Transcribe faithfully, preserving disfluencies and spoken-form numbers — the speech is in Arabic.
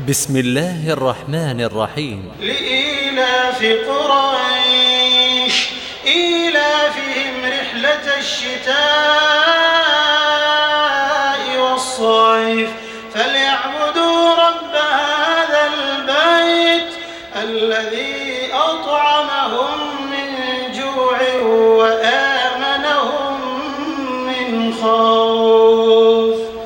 بسم الله الرحمن الرحيم. لإيلاف قريش إيلافهم رحلة الشتاء